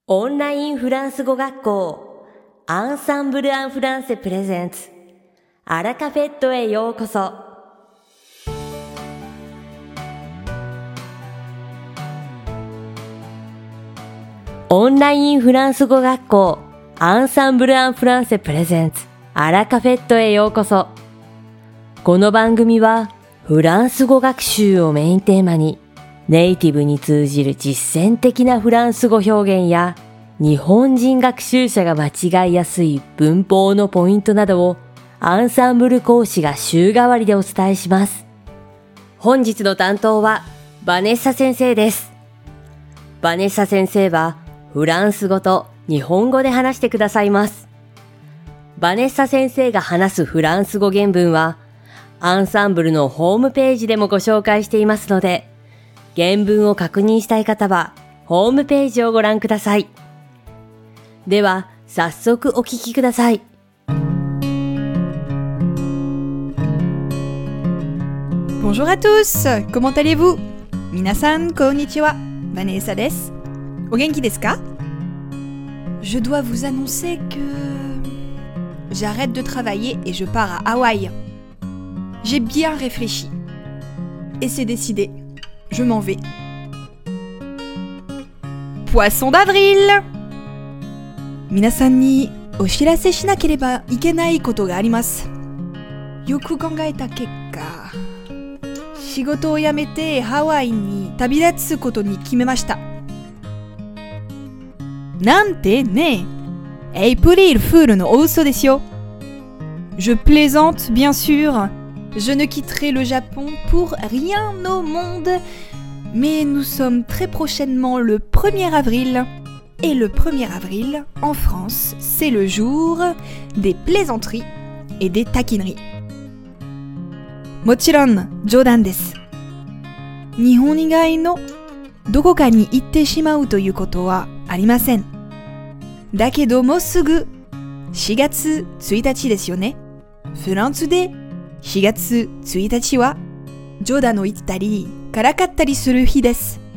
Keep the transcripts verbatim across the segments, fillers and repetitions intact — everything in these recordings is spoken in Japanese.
オンラインフランス語学校アンサンブル・アン・フランセプレゼンツアラカフェットへようこそ。オンラインフランス語学校アンサンブル・アン・フランセプレゼンツアラカフェットへようこそ。この番組はフランス語学習をメインテーマにネイティブに通じる実践的なフランス語表現や日本人学習者が間違いやすい文法のポイントなどをアンサンブル講師が週替わりでお伝えします。本日の担当はバネッサ先生です。バネッサ先生はフランス語と日本語で話してくださいます。バネッサ先生が話すフランス語原文はアンサンブルのホームページでもご紹介していますので、原文を確認したい方はホームページをご覧ください。では早速お聞きください。 Bonjour à tous, comment allez-vous? 皆さんこんにちは、バネッサです。お元気ですか? Je dois vous annoncer que j'arrête de travailler et je pars à Hawaï. J'ai bien réfléchi. Et c'est décidé, je m'en vais. Poisson d'avril! 皆さんにお知らせしなければいけないことがあります。よく考えた結果、仕事を辞めてハワイに旅立つことに決めました。なんてね、エイプリルフールのお嘘ですよ。Je plaisante, bien sûr. Je ne quitterai le Japon pour rien au monde. Mais nous sommes très prochainement le premier avril. Et le premier avril, en France, c'est le jour des plaisanteries et des taquineries. もちろん、冗談です。日本以外のどこかに行ってしまうということはありません。だけどもうすぐしがつついたちですよね。フランスでしがつついたちは冗談を言ったりからかったりする日です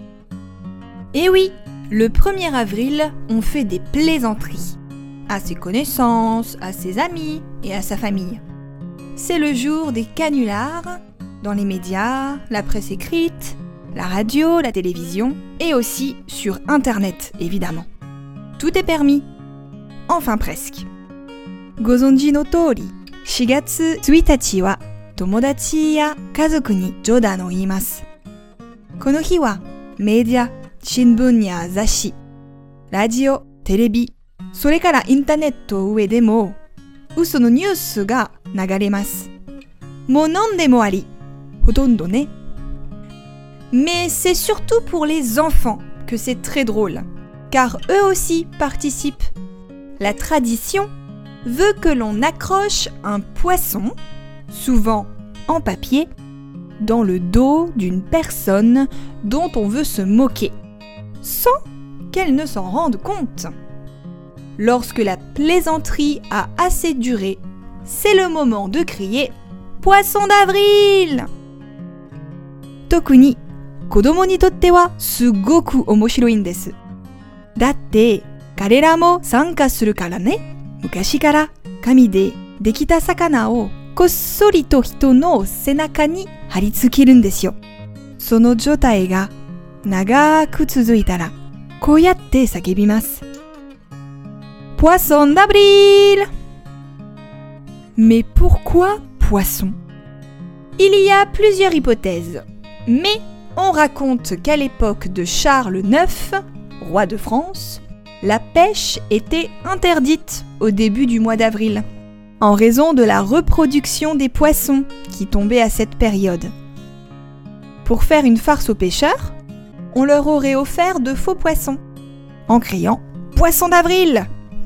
。Et oui, le premier avril, on fait des plaisanteries à ses connaissances, à ses amis et à sa famille. C'est le jour des canulars dans les médias, la presse écrite, la radio, la télévision et aussi sur Internet, évidemment. Tout est permis. Enfin presque. ご存知の通り、しがつついたちは友達や家族に冗談を言います。この日はメディア、新聞や雑誌、ラジオ、テレビ、それからインターネット上でも嘘のニュースが流れます。もう何でもあり、ほとんどね。Mais c'est surtout pour les enfants que c'est très drôle, car eux aussi participent. La tradition veut que l'on accroche un poisson, souvent en papier, dans le dos d'une personne dont on veut se moquer, sans qu'elle ne s'en rende compte. Lorsque la plaisanterie a assez duré, c'est le moment de crier « Poisson d'avril !» 特に子供にとってはすごく面白いんです。だって彼らも参加するからね。昔から紙でできた魚をこっそりと人の背中に貼り付けるんですよ。その状態が長く続いたらこうやって叫びます。Poisson d'avril! Mais pourquoi poisson? Il y a plusieurs hypothèses, mais on raconte qu'à l'époque de Charles neuf, roi de France, la pêche était interdite au début du mois d'avril, en raison de la reproduction des poissons qui tombaient à cette période. Pour faire une farce aux pêcheurs, on leur aurait offert de faux poissons, en criant « Poisson d'avril !»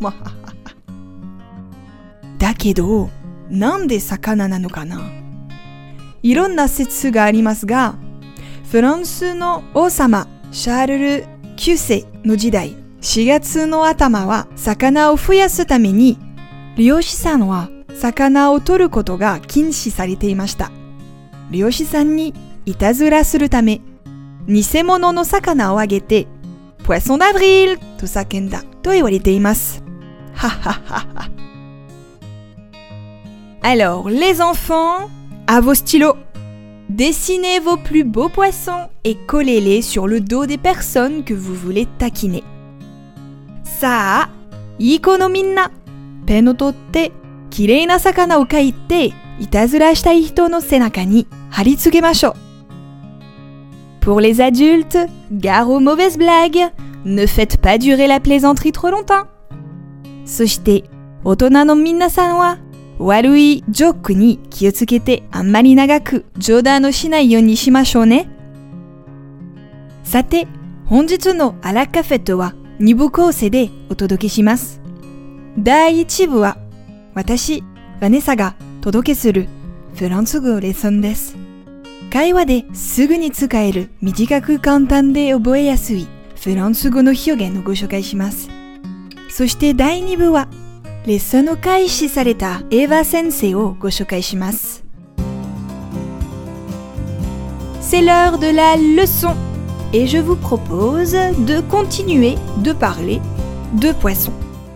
だけど、なんで魚なのかな？いろんな説がありますが、フランスの王様シャールルきゅうせいの時代、しがつの頭は魚を増やすために、漁師さんは魚を取ることが禁止されていました。漁師さんにいたずらするため、偽物の魚をあげて、 poisson d'avril と叫んだと言われています。はははは。Alors, les enfants, à vos stylos. Dessinez vos plus beaux poissons et collez-les sur le dos des personnes que vous voulez taquiner. さあ、いい子のみんな、ペンを取ってきれいな魚を描いていたずらしたい人の背中に貼り付けましょう。Pour les adultes, gare aux mauvaises blagues, ne faites pas durer la plaisanterie trop longtemps. そして大人の皆さんは悪いジョークに気をつけてあんまり長く冗談をしないようにしましょうね。さて、本日のアラカフェとはに部構成でお届けします。だいいち部は私、ヴァネサが届けするフランス語レッスンです。会話ですぐに使える短く簡単で覚えやすいフランス語の表現をご紹介します。そしてだいに部はレッスンを開始されたエヴァ先生をご紹介します。C'est l'heure de la leçon et je vous propose de continuer de parler de poissons.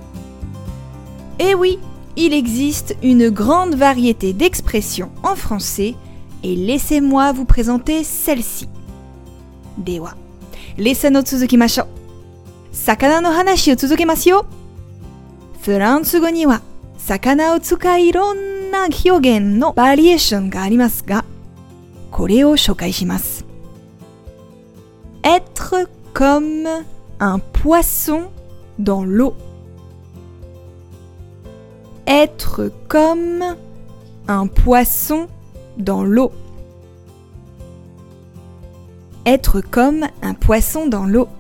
Et oui, il existe une grande variété d'expressions en français et laissez-moi vous présenter celle-ci. では、レッスンを続きましょう。魚の話を続けますよ。フランス語には魚を使いいろんな表現のバリエーションがありますが、これを紹介します。Être comme un poisson dans l'eau. Être comme un poisson dans l'eau. Être comme un poisson dans l'eau.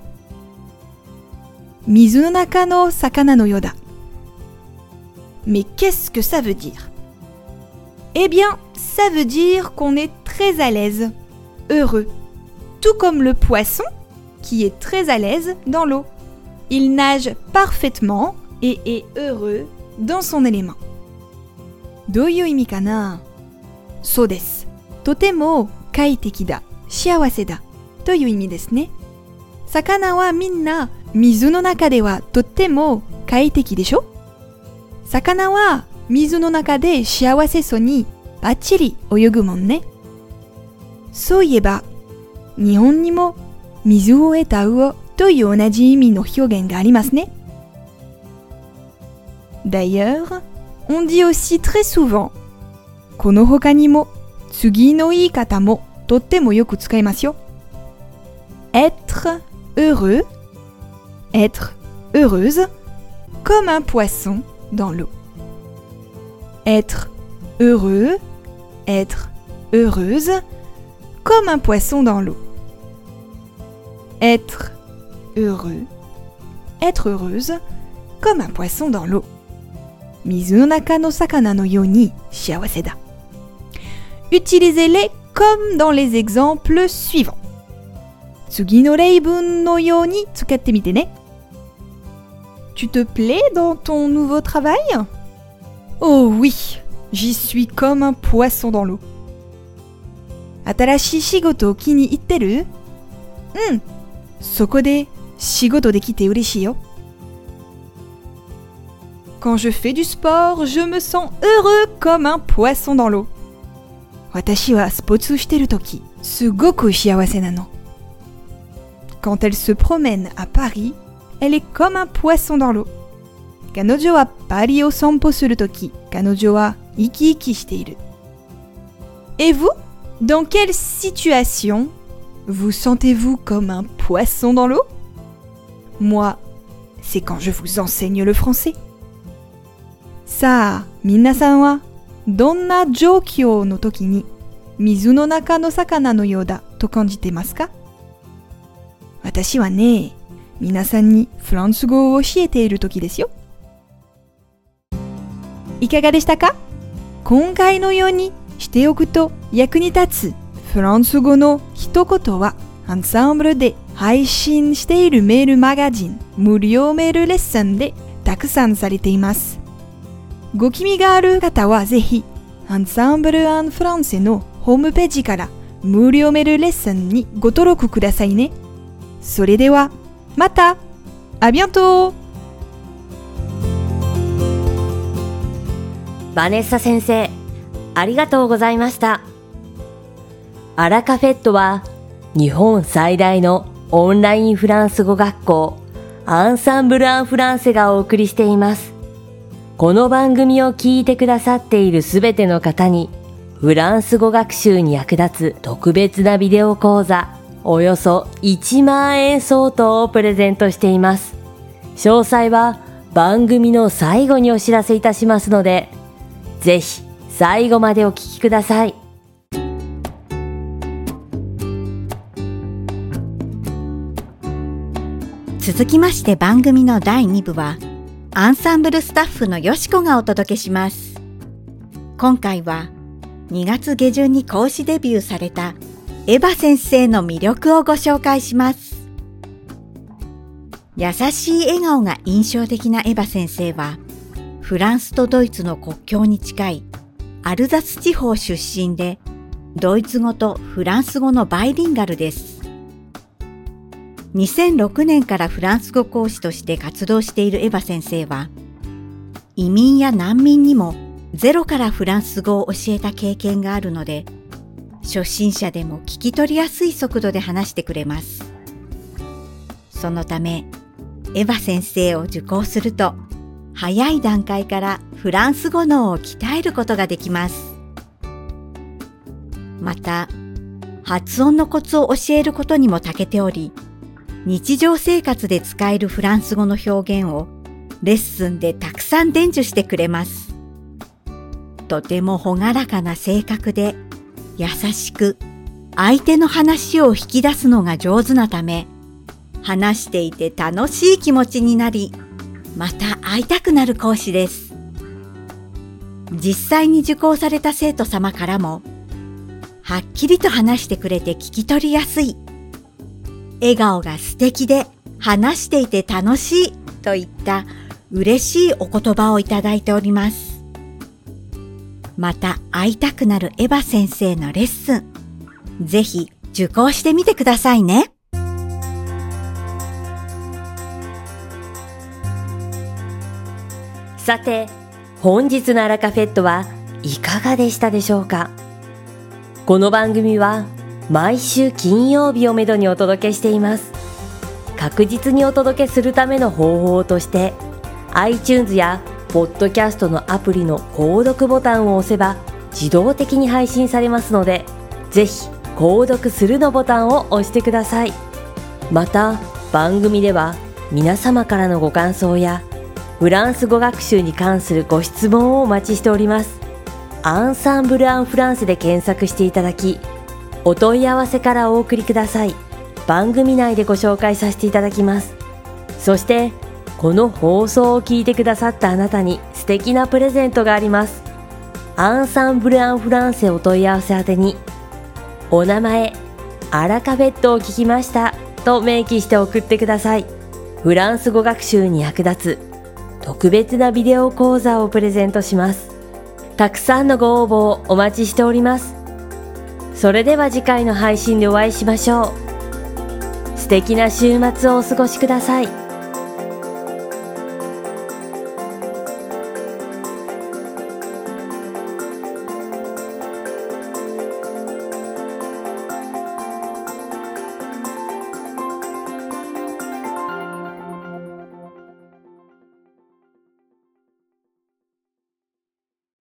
水の中の魚のようだ。Mais qu'est-ce que ça veut dire? Eh bien, ça veut dire qu'on est très à l'aise, heureux, tout comme le poisson qui est très à l'aise dans l'eau. Il nage parfaitement et est heureux dans son élément. どういう意味かな？そうです。とても快適だ、幸せだという意味ですね。魚はみんな水の中ではとっても快適でしょ？魚は水の中で幸せそうにバッチリ泳ぐもんね。そういえば、日本にも水を得た魚という同じ意味の表現がありますね。D'ailleurs, on dit aussi très souvent この他にも次の言い方もとってもよく使いますよ。Être heureux, être heureuse, comme un poisson dans l'eau. Être heureux, être heureuse, comme un poisson dans l'eau. Être heureux, être heureuse, comme un poisson dans l'eau. 水の中の魚のように幸せだ。Utilisez-les comme dans les exemples suivants. 次の例文のように使ってみてね。Tu te plais dans ton nouveau travail? Oh oui, j'y suis comme un poisson dans l'eau. 新しい仕事を気に入ってる？うん、そこで仕事できて嬉しいよ。Quand je fais du sport, je me sens heureux comme un poisson dans l'eau. 私はスポーツしてるとき、すごく幸せなの。Quand elle se promène à Paris, elle est comme un poisson dans l'eau. 彼女はパリを散歩するとき、彼女は生き生きしている。Et vous, dans quelle situation vous sentez-vous comme un poisson dans l'eau? Moi, c'est quand je vous enseigne le français. さあ、皆さんはどんな状況の時に水の中の魚のようだと感じてますか？私はね、皆さんにフランス語を教えている時ですよ。いかがでしたか？今回のようにしておくと役に立つフランス語の一言はアンサンブルで配信しているメールマガジン無料メールレッスンでたくさんされています。ご気味がある方はぜひアンサンブル・アン・フランセのホームページから無料メールレッスンにご登録くださいね。それではまた。À bientôt。 バネッサ先生、ありがとうございました。アラカフェットは日本最大のオンラインフランス語学校アンサンブル・アン・フランセがお送りしています。この番組を聞いてくださっているすべての方にフランス語学習に役立つ特別なビデオ講座およそいちまんえん相当をプレゼントしています。詳細は番組の最後にお知らせいたしますので、ぜひ最後までお聞きください。 続きまして番組のだいに部はアンサンブルスタッフのよしこがお届けします。今回はにがつ下旬に講師デビューされたエヴァ先生の魅力をご紹介します。優しい笑顔が印象的なエヴァ先生はフランスとドイツの国境に近いアルザス地方出身でドイツ語とフランス語のバイリンガルです。にせんろくねんからフランス語講師として活動しているエヴァ先生は、移民や難民にもゼロからフランス語を教えた経験があるので、初心者でも聞き取りやすい速度で話してくれます。そのため、エヴァ先生を受講すると、早い段階からフランス語能を鍛えることができます。また、発音のコツを教えることにも長けており、日常生活で使えるフランス語の表現をレッスンでたくさん伝授してくれます。とても朗らかな性格で優しく相手の話を引き出すのが上手なため、話していて楽しい気持ちになり、また会いたくなる講師です。実際に受講された生徒様からも、はっきりと話してくれて聞き取りやすい、笑顔が素敵で話していて楽しいといった嬉しいお言葉をいただいております。また会いたくなるエヴァ先生のレッスン、ぜひ受講してみてくださいね。 さて、本日のアラカフェットはいかがでしたでしょうか。この番組は毎週金曜日をめどにお届けしています。確実にお届けするための方法として iTunes やポッドキャストのアプリの購読ボタンを押せば自動的に配信されますので、ぜひ購読するのボタンを押してください。また番組では皆様からのご感想やフランス語学習に関するご質問をお待ちしております。アンサンブル・アン・フランセで検索していただき、お問い合わせからお送りください。番組内でご紹介させていただきます。そしてこの放送を聞いてくださったあなたに素敵なプレゼントがあります。アンサンブル・アン・フランセお問い合わせ宛てに、お名前、アラカフェットを聞きましたと明記して送ってください。フランス語学習に役立つ特別なビデオ講座をプレゼントします。たくさんのご応募をお待ちしております。それでは次回の配信でお会いしましょう。素敵な週末をお過ごしください。